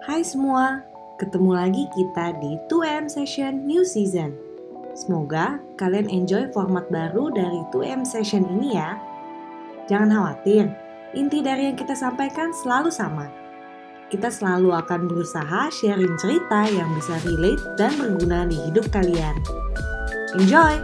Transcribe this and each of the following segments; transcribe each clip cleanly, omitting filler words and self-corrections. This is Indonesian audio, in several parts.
Hai semua, ketemu lagi kita di 2M Session New Season. Semoga kalian enjoy format baru dari 2M Session ini ya. Jangan khawatir, inti dari yang kita sampaikan selalu sama. Kita selalu akan berusaha sharing cerita yang bisa relate dan berguna di hidup kalian. Enjoy!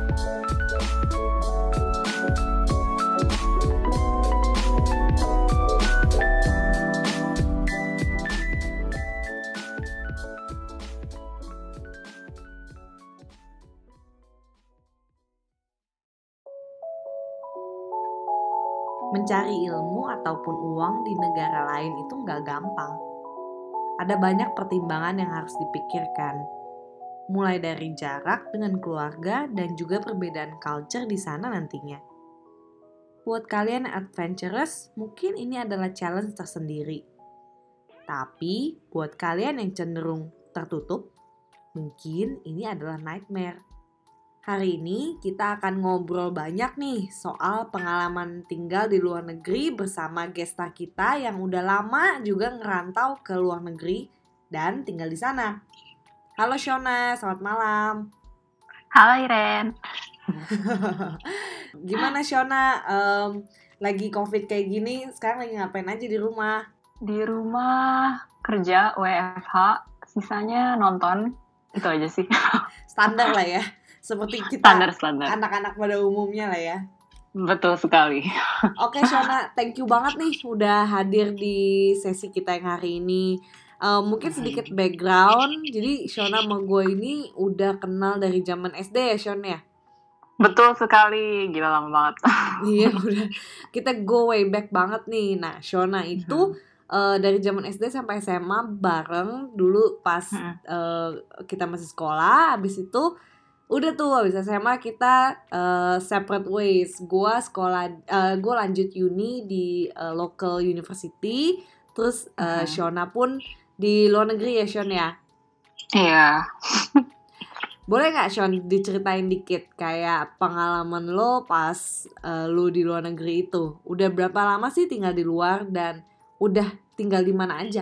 Mencari ilmu ataupun uang di negara lain itu nggak gampang. Ada banyak pertimbangan yang harus dipikirkan. Mulai dari jarak dengan keluarga dan juga perbedaan culture di sana nantinya. Buat kalian yang adventurous, mungkin ini adalah challenge tersendiri. Tapi buat kalian yang cenderung tertutup, mungkin ini adalah nightmare. Hari ini kita akan ngobrol banyak nih soal pengalaman tinggal di luar negeri bersama gesta kita yang udah lama juga ngerantau ke luar negeri dan tinggal di sana. Halo Shona, selamat malam. Halo Iren. Gimana Shona, lagi COVID kayak gini, sekarang lagi ngapain aja di rumah? Di rumah kerja WFH, sisanya nonton, itu aja sih. Standar lah ya, seperti kita Standar. anak-anak pada umumnya lah ya. Betul sekali. Oke Shona, thank you banget nih udah hadir di sesi kita yang hari ini. Mungkin sedikit background, jadi Shona sama gue ini udah kenal dari zaman SD ya Shona ya? Betul sekali, gila lama banget. Iya udah, kita go way back banget nih. Nah Shona itu dari zaman SD sampai SMA bareng dulu pas kita masih sekolah, habis itu udah tuh habis SMA kita separate ways. Gue lanjut uni di local university, terus Shona pun di luar negeri ya Shon ya. Iya. Boleh nggak Shon diceritain dikit kayak pengalaman lo pas lo di luar negeri itu? Udah berapa lama sih tinggal di luar dan udah tinggal di mana aja?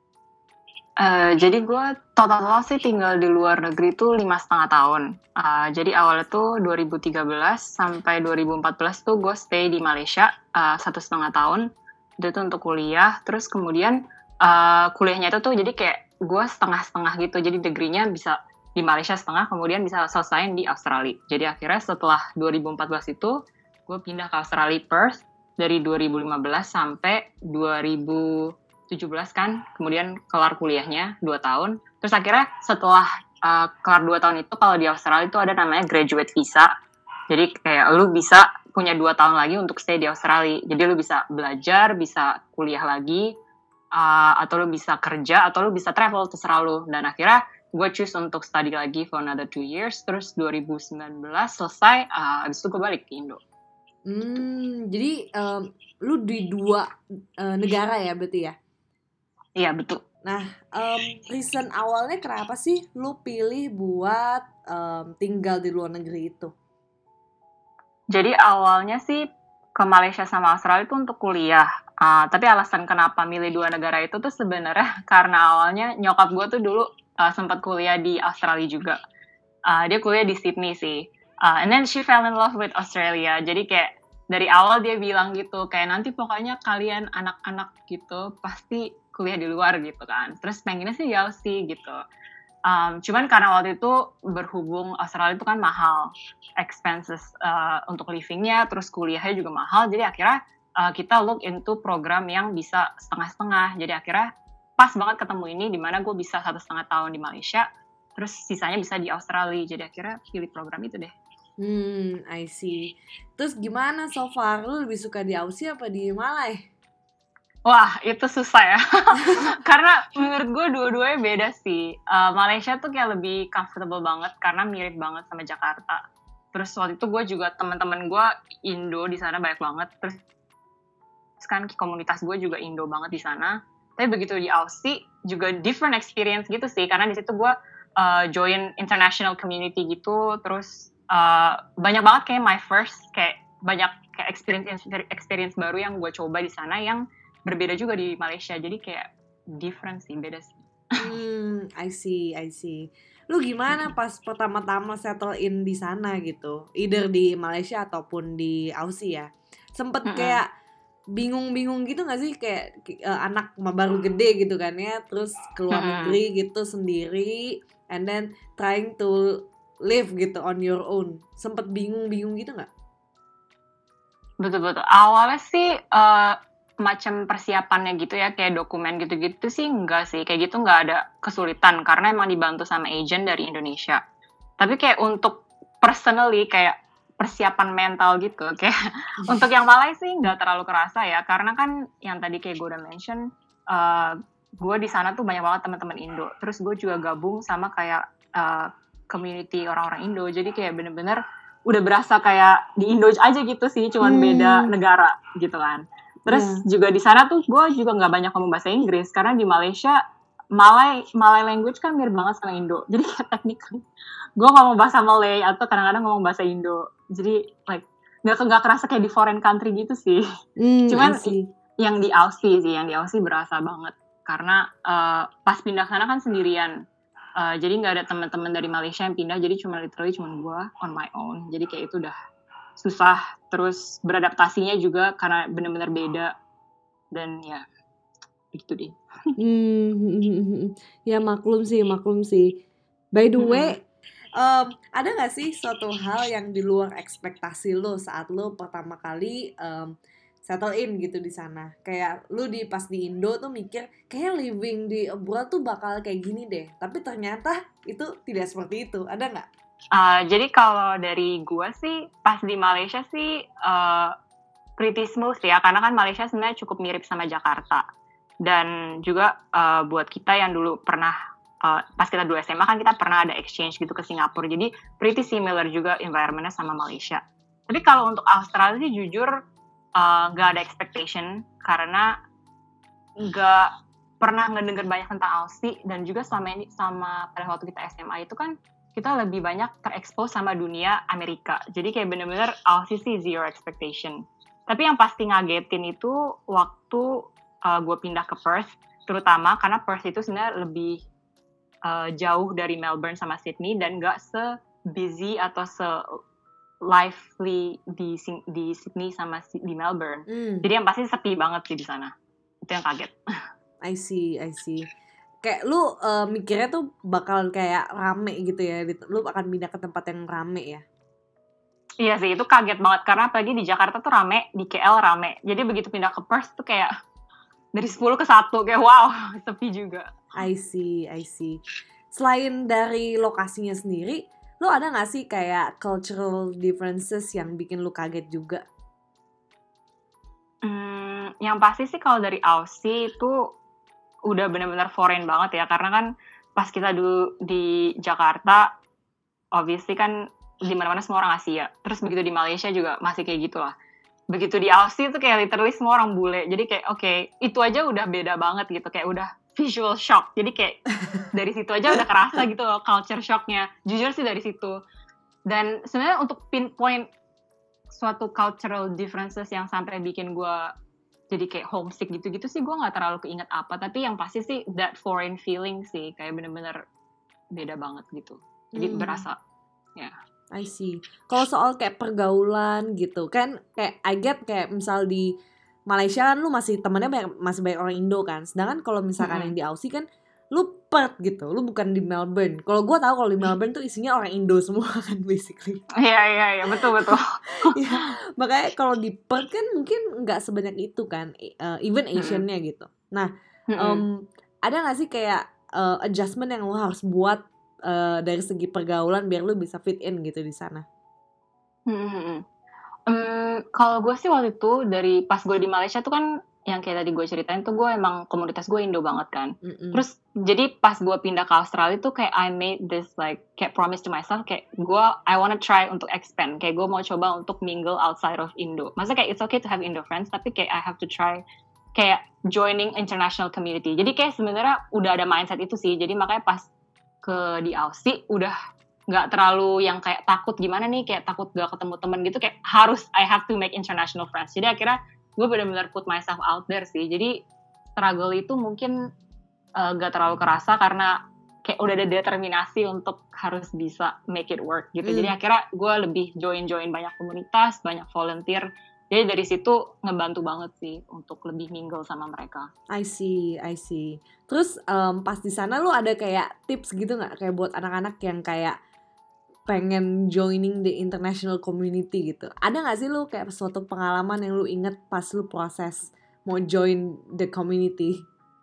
Jadi gue total sih tinggal di luar negeri tuh 5,5 tahun. Jadi awalnya tuh 2013 sampai 2014 tuh gue stay di Malaysia 1,5 tahun. Itu tuh untuk kuliah. Terus kemudian kuliahnya itu tuh jadi kayak gue setengah-setengah gitu. Jadi degree-nya bisa di Malaysia setengah, kemudian bisa selesaiin di Australia. Jadi akhirnya setelah 2014 itu gue pindah ke Australia Perth dari 2015 sampai 2017 kan, kemudian kelar kuliahnya 2 tahun. Terus akhirnya setelah kelar 2 tahun itu, kalau di Australia itu ada namanya graduate visa. Jadi kayak lu bisa punya 2 tahun lagi untuk stay di Australia. Jadi lu bisa belajar, bisa kuliah lagi, atau lu bisa kerja, atau lu bisa travel, terserah lu. Dan akhirnya gue choose untuk study lagi for another 2 years. Terus 2019 selesai, abis itu gue balik ke Indo. Jadi lu di 2 negara ya berarti ya? Iya betul. Nah, reason awalnya kenapa sih lu pilih buat tinggal di luar negeri itu? Jadi awalnya sih ke Malaysia sama Australia itu untuk kuliah. Tapi alasan kenapa milih 2 negara itu tuh sebenarnya karena awalnya nyokap gue tuh dulu sempat kuliah di Australia juga. Dia kuliah di Sydney sih. And then she fell in love with Australia. Jadi kayak dari awal dia bilang gitu, kayak nanti pokoknya kalian anak-anak gitu pasti kuliah di luar gitu kan. Terus pengennya sih jauh sih gitu. Cuman karena waktu itu berhubung Australia itu kan mahal, expenses untuk livingnya, terus kuliahnya juga mahal, jadi akhirnya kita look into program yang bisa setengah-setengah. Jadi akhirnya pas banget ketemu ini, dimana gue bisa 1,5 tahun di Malaysia, terus sisanya bisa di Australia. Jadi akhirnya pilih program itu deh. I see. Terus gimana so far? Lu lebih suka di Aussie apa di Malai? Wah, itu susah ya. Karena menurut gue dua-duanya beda sih. Malaysia tuh kayak lebih comfortable banget karena mirip banget sama Jakarta. Terus waktu itu gue juga teman-teman gue Indo di sana banyak banget. Terus kan komunitas gue juga Indo banget di sana. Tapi begitu di Aussie juga different experience gitu sih. Karena di situ gue join international community gitu. Terus banyak banget kayak my first kayak banyak kayak experience baru yang gue coba di sana yang berbeda juga di Malaysia. Jadi kayak different sih, beda sih. I see, I see. Lu gimana pas pertama-tama settle in di sana gitu? Either di Malaysia ataupun di Aussie ya. Sempet Mm-mm. kayak bingung-bingung gitu gak sih? Kayak anak baru gede gitu kan ya, terus keluar Mm-mm. negeri gitu sendiri, and then trying to live gitu on your own. Sempet bingung-bingung gitu gak? Betul-betul. Awalnya sih macam persiapannya gitu ya, kayak dokumen gitu-gitu sih enggak sih. Kayak gitu enggak ada kesulitan karena emang dibantu sama agent dari Indonesia. Tapi kayak untuk personally kayak persiapan mental gitu, kayak untuk yang Malay sih nggak terlalu kerasa ya, karena kan yang tadi kayak gue udah mention, gue di sana tuh banyak banget teman-teman Indo. Terus gue juga gabung sama kayak community orang-orang Indo, jadi kayak bener-bener udah berasa kayak di Indo aja gitu sih, cuman beda negara gitu kan. Terus Ya. juga di sana tuh gue juga nggak banyak ngomong bahasa Inggris karena di Malaysia Malay language kan mirip banget sama Indo. Jadi kayak technically gue ngomong bahasa Malay atau kadang-kadang ngomong bahasa Indo. Jadi like nggak kerasa kayak di foreign country gitu sih. I Cuman see. yang di Aussie berasa banget karena pas pindah sana kan sendirian. Jadi nggak ada teman-teman dari Malaysia yang pindah, jadi cuma literally cuma gue on my own. Jadi kayak itu udah susah, terus beradaptasinya juga karena benar-benar beda, dan ya gitu deh. Ya maklum sih. By the Mm-mm. way, ada nggak sih suatu hal yang di luar ekspektasi lo saat lo pertama kali settle in gitu di sana? Kayak lo pas di Indo tuh mikir kayak living di abroad tuh bakal kayak gini deh, tapi ternyata itu tidak seperti itu. Ada nggak? Jadi kalau dari gue sih pas di Malaysia sih pretty smooth ya, karena kan Malaysia sebenarnya cukup mirip sama Jakarta. Dan juga buat kita yang dulu pernah pas kita dulu SMA kan kita pernah ada exchange gitu ke Singapura, jadi pretty similar juga environmentnya sama Malaysia. Tapi kalau untuk Australia sih jujur nggak ada expectation, karena nggak pernah ngedenger banyak tentang Aussie, dan juga sama pada waktu kita SMA itu kan kita lebih banyak terekspos sama dunia Amerika. Jadi kayak bener-bener Aussie sih zero expectation. Tapi yang pasti ngagetin itu waktu gue pindah ke Perth, terutama karena Perth itu sebenarnya lebih jauh dari Melbourne sama Sydney dan nggak se-busy atau se-lively di Sydney sama di Melbourne. Jadi yang pasti sepi banget sih di sana. Itu yang kaget. I see. Kayak lu mikirnya tuh bakal kayak rame gitu ya, lu akan pindah ke tempat yang rame ya? Iya sih, itu kaget banget karena apalagi di Jakarta tuh rame, di KL rame. Jadi begitu pindah ke Perth tuh kayak dari 10 ke 1, kayak wow, sepi juga. I see. Selain dari lokasinya sendiri, lu ada gak sih kayak cultural differences yang bikin lu kaget juga? Yang pasti sih kalau dari Aussie itu udah benar-benar foreign banget ya, karena kan pas kita dulu di Jakarta, obviously kan di mana-mana semua orang Asia. Terus begitu di Malaysia juga masih kayak gitulah. Begitu di Aussie tuh kayak literally semua orang bule. Jadi kayak oke, itu aja udah beda banget gitu, kayak udah visual shock. Jadi kayak dari situ aja udah kerasa gitu loh culture shocknya. Jujur sih dari situ. Dan sebenarnya untuk pinpoint suatu cultural differences yang sampai bikin gue jadi kayak homesick gitu-gitu sih gue nggak terlalu keinget apa, tapi yang pasti sih that foreign feeling sih, kayak bener-bener beda banget gitu, jadi berasa ya. I see. Kalau soal kayak pergaulan gitu kan, kayak I get kayak misal di Malaysia kan lu masih temennya masih banyak orang Indo kan, sedangkan kalau misalkan yang di Aussie kan lu Perth gitu, lu bukan di Melbourne. Kalau gue tahu kalau di Melbourne tuh isinya orang Indo semua kan basically. Iya betul. Ya, makanya kalau di Perth kan mungkin nggak sebanyak itu kan, even Asian-nya gitu. Nah, ada nggak sih kayak adjustment yang lo harus buat dari segi pergaulan biar lo bisa fit in gitu di sana? Kalau gue sih waktu itu dari pas gue di Malaysia tuh kan yang kayak tadi gue ceritain tuh, gue emang komunitas gue Indo banget kan. Terus jadi pas gue pindah ke Australia tuh kayak I made this like kayak promise to myself, kayak I wanna try untuk expand, kayak gue mau coba untuk mingle outside of Indo. Maksudnya kayak it's okay to have Indo friends, tapi kayak I have to try kayak joining international community. Jadi kayak sebenarnya udah ada mindset itu sih. Jadi makanya pas di Aussie udah nggak terlalu yang kayak takut gimana nih, kayak takut gak ketemu temen gitu, kayak harus I have to make international friends. Jadi akhirnya gue benar-benar put myself out there sih. Jadi struggle itu mungkin gak terlalu kerasa karena kayak udah ada determinasi untuk harus bisa make it work gitu. Jadi akhirnya gue lebih join banyak komunitas, banyak volunteer. Jadi dari situ ngebantu banget sih untuk lebih mingle sama mereka. I see. Terus pas di sana lu ada kayak tips gitu nggak, kayak buat anak-anak yang kayak pengen joining the international community gitu? Ada nggak sih lu kayak suatu pengalaman yang lu inget pas lu proses mau join the community?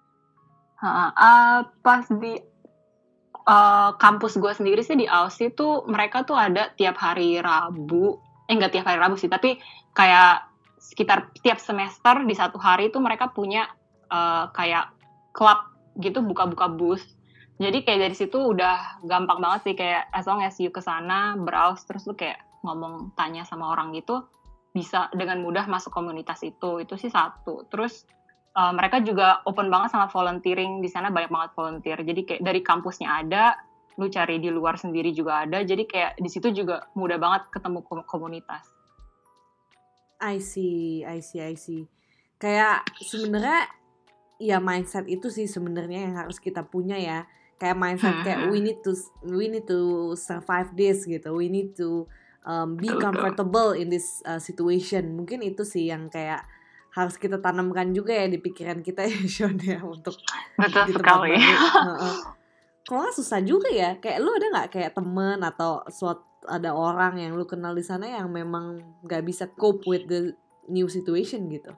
Pas di kampus gue sendiri sih di Aussie tuh mereka tuh ada tiap hari Rabu, nggak tiap hari Rabu sih, tapi kayak sekitar tiap semester di satu hari itu mereka punya kayak klub gitu, buka-buka booth. Jadi kayak dari situ udah gampang banget sih, kayak as long as you kesana browse terus lu kayak ngomong tanya sama orang gitu, bisa dengan mudah masuk komunitas itu sih satu. Terus mereka juga open banget sama volunteering, di sana banyak banget volunteer. Jadi kayak dari kampusnya ada, lu cari di luar sendiri juga ada. Jadi kayak di situ juga mudah banget ketemu komunitas. I see. Kayak sebenarnya ya mindset itu sih sebenarnya yang harus kita punya ya. Kayak mindset kayak we need to survive this gitu. We need to be comfortable in this situation. Mungkin itu sih yang kayak harus kita tanamkan juga ya di pikiran kita ya, Sean, ya, untuk betul di tempat sekali. baru. Kalau nggak susah juga ya. Kayak lu ada nggak kayak temen atau ada orang yang lu kenal di sana yang memang nggak bisa cope with the new situation gitu?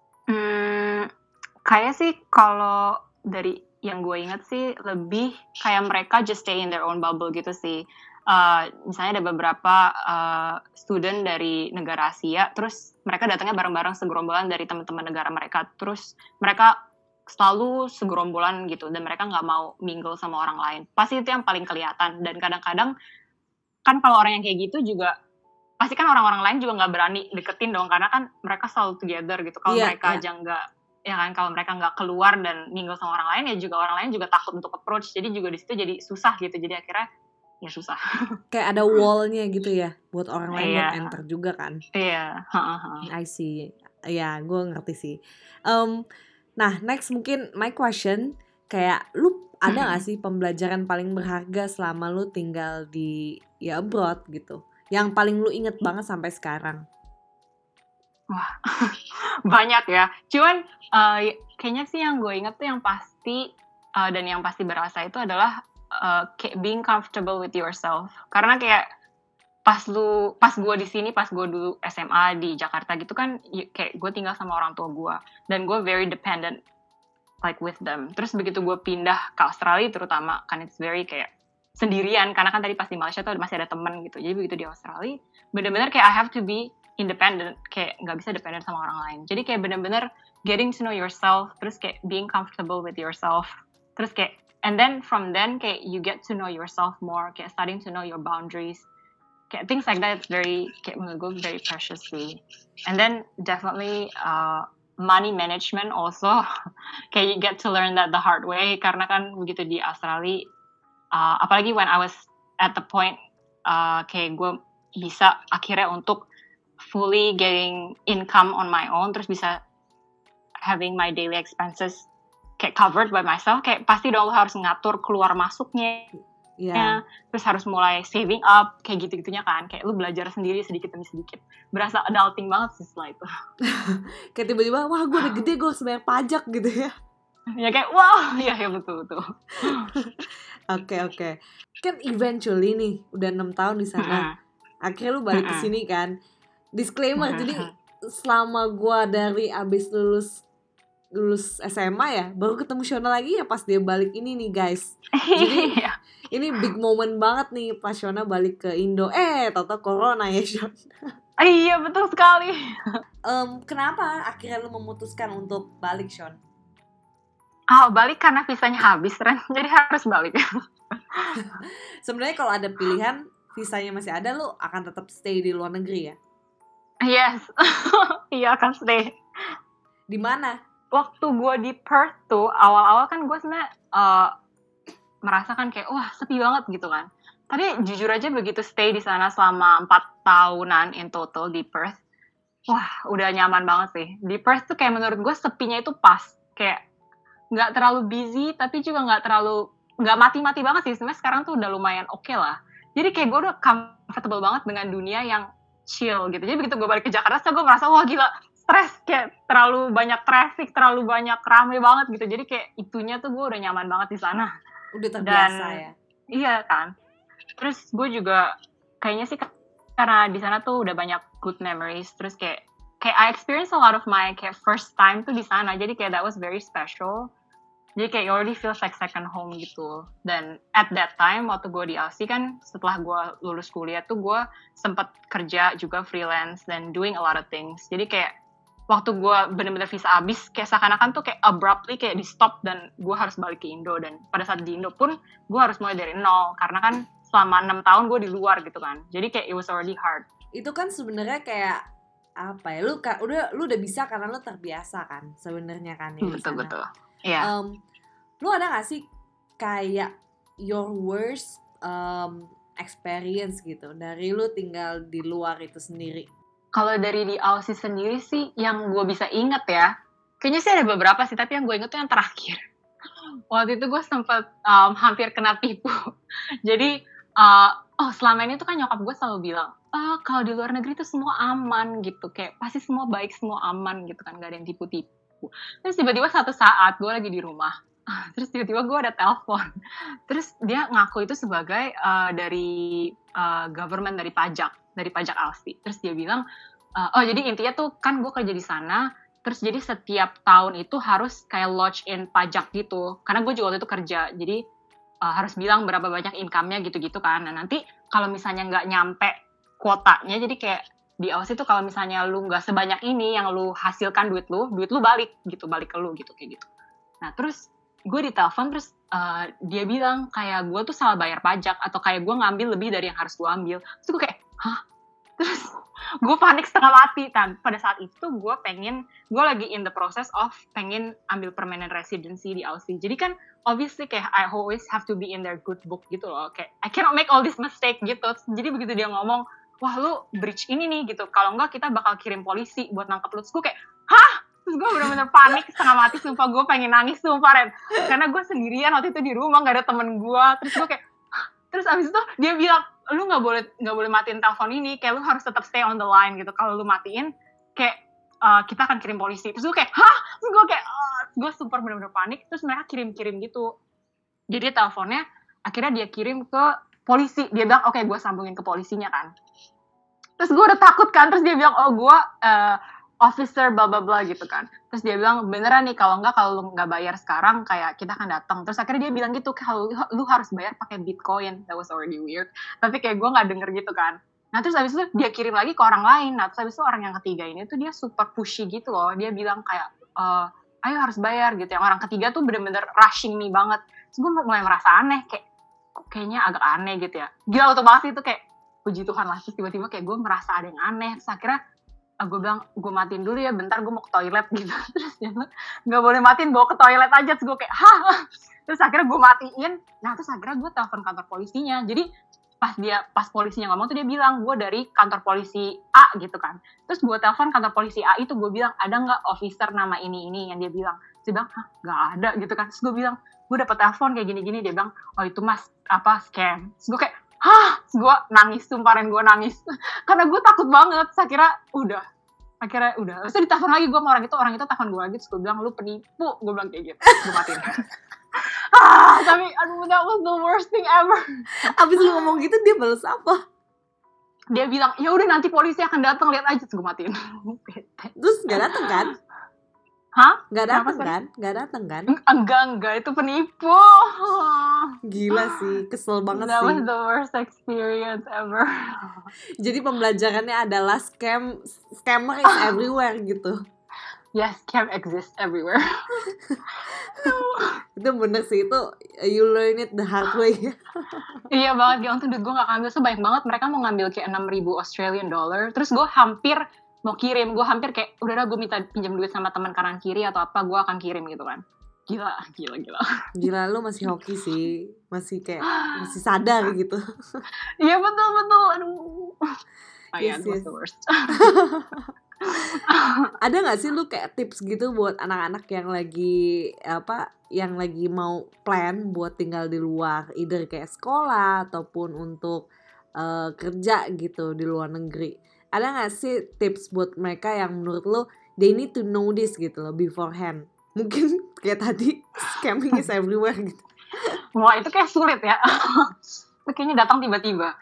Kayak sih kalau dari yang gue ingat sih lebih kayak mereka just stay in their own bubble gitu sih. Misalnya ada beberapa student dari negara Asia, terus mereka datangnya bareng-bareng segerombolan dari teman-teman negara mereka, terus mereka selalu segerombolan gitu, dan mereka nggak mau mingle sama orang lain. Pasti itu yang paling kelihatan, dan kadang-kadang kan kalau orang yang kayak gitu juga pasti kan orang-orang lain juga nggak berani deketin dong, karena kan mereka selalu together gitu. Kalau mereka aja nggak, ya kan, kalau mereka nggak keluar dan mingle sama orang lain, ya juga orang lain juga takut untuk approach, jadi juga di situ jadi susah gitu. Jadi akhirnya ya susah. Kayak ada wall-nya gitu ya buat orang lain buat enter juga kan. Iya. I see. Ya, gue ngerti sih. Nah, next mungkin my question, kayak lu ada gak sih pembelajaran paling berharga selama lu tinggal di abroad gitu, yang paling lu inget banget sampai sekarang? Wah, banyak ya. Cuman kayaknya sih yang gue inget tuh yang pasti dan yang pasti berasa itu adalah kayak being comfortable with yourself. Karena kayak pas gue di sini, pas gue dulu SMA di Jakarta gitu kan, kayak gue tinggal sama orang tua gue dan gue very dependent like with them. Terus begitu gue pindah ke Australia terutama, kan it's very kayak sendirian, karena kan tadi pas di Malaysia tuh masih ada temen gitu. Jadi begitu di Australia bener-bener kayak I have to be independent, kayak nggak bisa dependent sama orang lain. Jadi kayak bener-bener getting to know yourself, terus kayak being comfortable with yourself, terus kayak and then from then kayak you get to know yourself more, kayak starting to know your boundaries, kayak things like that. It's very, kayak menurut gue very precious sih. And then definitely money management also kayak you get to learn that the hard way, karena kan begitu di Australia apalagi when I was at the point kayak gue bisa akhirnya untuk fully getting income on my own, terus bisa having my daily expenses kayak covered by myself, kayak pasti dong lo harus ngatur keluar masuknya, terus harus mulai saving up, kayak gitu-gitunya kan, kayak lu belajar sendiri sedikit demi sedikit. Berasa adulting banget sih setelah itu. Kayak tiba-tiba, wah gue udah gede, gue harus bayar pajak gitu ya. Ya kayak, wow, ya betul. Oke. Kan eventually nih, udah 6 tahun di sana, akhirnya lu balik ke sini kan. Disclaimer, jadi selama gue dari abis lulus SMA ya, baru ketemu Shona lagi ya pas dia balik ini nih guys. Jadi ini big moment banget nih pas Shona balik ke Indo. Tau-tau corona ya, Shona. Iya, betul sekali. Kenapa akhirnya lu memutuskan untuk balik, Shon? Balik karena visanya habis, Ren. Jadi harus balik. Sebenarnya kalau ada pilihan visanya masih ada, lu akan tetap stay di luar negeri ya? Yes. Iya, akan stay. Di mana? Waktu gue di Perth tuh, awal-awal kan gue sebenarnya merasakan kayak, wah sepi banget gitu kan. Tapi jujur aja begitu stay di sana selama 4 tahunan in total di Perth, wah udah nyaman banget sih. Di Perth tuh kayak menurut gue sepinya itu pas. Kayak nggak terlalu busy tapi juga nggak mati-mati banget sih. Sebenarnya sekarang tuh udah lumayan oke lah. Jadi kayak gue udah comfortable banget dengan dunia yang chill gitu. Jadi begitu gue balik ke Jakarta, gue merasa wah gila, stres, kayak terlalu banyak traffic, terlalu banyak rame banget gitu. Jadi kayak itunya tuh gue udah nyaman banget di sana. Udah terbiasa ya. Iya kan. Terus gue juga kayaknya sih karena di sana tuh udah banyak good memories. Terus kayak I experience a lot of my kayak first time tuh di sana. Jadi kayak that was very special. Jadi kayak it already feels like second home gitu. Dan at that time waktu gue di Aussie kan, setelah gue lulus kuliah tuh gue sempet kerja juga freelance dan doing a lot of things. Jadi kayak waktu gue bener-bener visa abis, kayak seakan-akan tuh kayak abruptly kayak di stop dan gue harus balik ke Indo. Dan pada saat di Indo pun gue harus mulai dari nol karena kan selama 6 tahun gue di luar gitu kan. Jadi kayak it was already hard. Itu kan sebenarnya kayak apa ya? Lu udah bisa karena lu terbiasa kan sebenarnya kan ya. Betul. Iya. Lu ada gak sih kayak your worst experience gitu dari lu tinggal di luar itu sendiri? Kalau dari di Aussie sendiri sih yang gue bisa inget ya, kayaknya sih ada beberapa sih, tapi yang gue inget tuh yang terakhir. Waktu itu gue sempet hampir kena tipu. Jadi selama ini tuh kan nyokap gue selalu bilang, kalau di luar negeri tuh semua aman gitu, kayak pasti semua baik, semua aman gitu kan, gak ada yang tipu-tipu. Terus tiba-tiba satu saat gue lagi di rumah, terus tiba-tiba gue ada telepon, terus dia ngaku itu sebagai dari government, dari pajak Aussie. Terus dia bilang, jadi intinya tuh kan gue kerja di sana, terus jadi setiap tahun itu harus kayak lodge in pajak gitu, karena gue juga waktu itu kerja, jadi harus bilang berapa banyak income-nya gitu-gitu kan. Nah nanti kalau misalnya nggak nyampe kuotanya, jadi kayak di Aussie tuh kalau misalnya lu nggak sebanyak ini yang lu hasilkan duit lu balik ke lu gitu kayak gitu. Nah terus gue ditelepon, terus dia bilang kayak gue tuh salah bayar pajak atau kayak gue ngambil lebih dari yang harus gue ambil. Terus gue kayak terus gue panik setengah mati. Pada saat itu gue lagi in the process of pengen ambil permanent residency di Aussie. Jadi kan obviously kayak I always have to be in their good book gitu loh, kayak I cannot make all this mistake gitu. Jadi begitu dia ngomong, wah lu breach ini nih gitu, kalau enggak kita bakal kirim polisi buat nangkep lu. Terus gue kayak terus gue bener-bener panik setengah mati, sumpah gue pengen nangis sumpah Ren, karena gue sendirian waktu itu di rumah, gak ada temen gue. Terus gue kayak terus abis itu dia bilang, lu nggak boleh matiin telepon ini, kayak lu harus tetap stay on the line gitu, kalau lu matiin kayak kita akan kirim polisi. Terus gue kayak terus gue kayak gue super bener-bener panik. Terus mereka kirim gitu, jadi teleponnya akhirnya dia kirim ke polisi. Dia bilang oke, gue sambungin ke polisinya kan. Terus gue udah takut kan, terus dia bilang gue officer bla bla bla gitu kan. Terus dia bilang beneran nih, kalau lu nggak bayar sekarang kayak kita akan datang. Terus akhirnya dia bilang gitu, kalau lu harus bayar pakai Bitcoin. That was already weird, tapi kayak gue nggak denger gitu kan. Nah terus abis itu dia kirim lagi ke orang lain. Nah terus abis itu orang yang ketiga ini tuh dia super pushy gitu loh. Dia bilang kayak ayo harus bayar gitu. Yang orang ketiga tuh bener-bener rushing me banget. Terus gue mulai merasa aneh, kayak kayaknya agak aneh gitu ya. Gila otomatis itu kayak puji Tuhan lah. Terus tiba-tiba kayak gue merasa ada yang aneh. Terus akhirnya gue bilang, gue matiin dulu ya bentar, gue mau ke toilet gitu. Terus dia bilang, gak boleh matiin, bawa ke toilet aja. Terus gue kayak terus akhirnya gue matiin. Nah terus akhirnya gue telepon kantor polisinya. Jadi pas polisinya ngomong tuh dia bilang, gue dari kantor polisi A gitu kan. Terus gue telepon kantor polisi A itu, gue bilang, ada gak officer nama ini yang dia bilang. Terus dia bilang, gak ada gitu kan. Terus gue bilang, gue dapet telepon kayak gini-gini. Dia bilang, oh itu mas scam. Terus gue kayak terus gue nangis, sumpahin gue nangis karena gue takut banget. Akhirnya udah terus ditelepon lagi gue sama orang itu telepon gue lagi. Terus gue bilang, lu penipu, gue bilang kayak gitu. Gue matiin. Tapi aduh, that was the worst thing ever. Abis lu ngomong gitu dia balas apa? Dia bilang, ya udah nanti polisi akan datang, lihat aja. Terus gue matiin. Terus gak datang kan? Gak datang kan? Enggak, itu penipu. Gila sih, kesel banget That sih. was the worst experience ever. Jadi pembelajarannya adalah scammer is everywhere gitu. Yes, scam exists everywhere. Itu bener sih, itu you learn it the hard way. Iya banget, untung duit gue gak ngambil sebanyak banget. Mereka mau ngambil kayak 6,000 Australian dollar. Terus gue hampir mau kirim, gue hampir kayak udah gue minta pinjam duit sama teman kanan kiri atau apa, gue akan kirim gitu kan. Gila, lu masih hoki sih, masih sadar gitu. Iya betul, aduh. Yes. Was the worst. Ada nggak sih lu kayak tips gitu buat anak-anak yang lagi mau plan buat tinggal di luar, either kayak sekolah ataupun untuk kerja gitu di luar negeri? Ada nggak sih tips buat mereka yang menurut lu they need to know this gitu loh beforehand? Mungkin kayak tadi scamming is everywhere gitu. Wah, itu kayak sulit ya. Itu kayaknya datang tiba-tiba.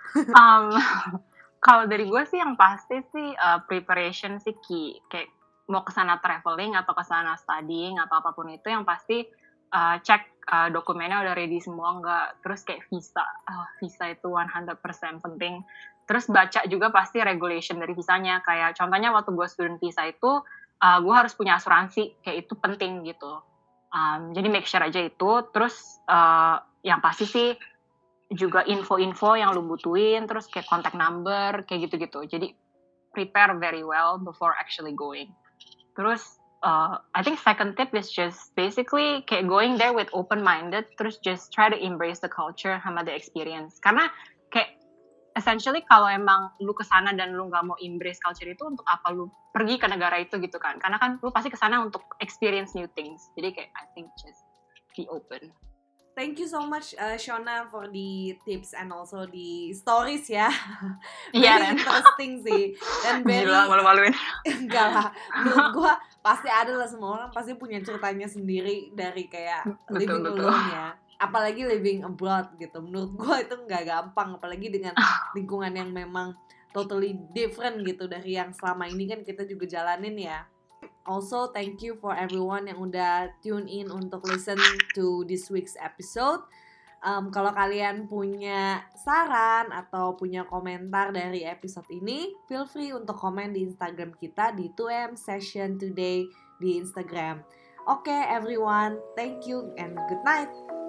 Kalau dari gue sih yang pasti sih preparation sih key. Kayak mau ke sana traveling atau ke sana studying atau apapun itu, yang pasti cek dokumennya udah ready semua nggak. Terus kayak visa. Visa itu 100% penting. Terus baca juga pasti regulation dari visanya. Kayak contohnya waktu gue student visa itu, gue harus punya asuransi. Kayak itu penting gitu. Jadi make sure aja itu. Terus yang pasti sih juga info-info yang lu butuhin, terus kayak contact number, kayak gitu-gitu. Jadi prepare very well before actually going. Terus I think second tip is just basically kayak going there with open-minded, terus just try to embrace the culture sama the experience. Karena kayak essentially kalau emang lu kesana dan lu nggak mau embrace culture itu, untuk apa lu pergi ke negara itu gitu kan? Karena kan lu pasti kesana untuk experience new things. Jadi kayak I think just be open. Thank you so much Shona for the tips and also the stories ya. Very interesting sih. Dan very gila, malu-maluin. Enggak lah, menurut gue pasti ada lah, semua orang pasti punya ceritanya sendiri dari kayak living alone ya. Apalagi living abroad gitu. Menurut gue itu nggak gampang, apalagi dengan lingkungan yang memang totally different gitu dari yang selama ini kan kita juga jalanin ya. Also, thank you for everyone yang udah tune in untuk listen to this week's episode. Kalau kalian punya saran atau punya komentar dari episode ini, feel free untuk komen di Instagram kita di 2M Session Today di Instagram. Okay, everyone, thank you and good night.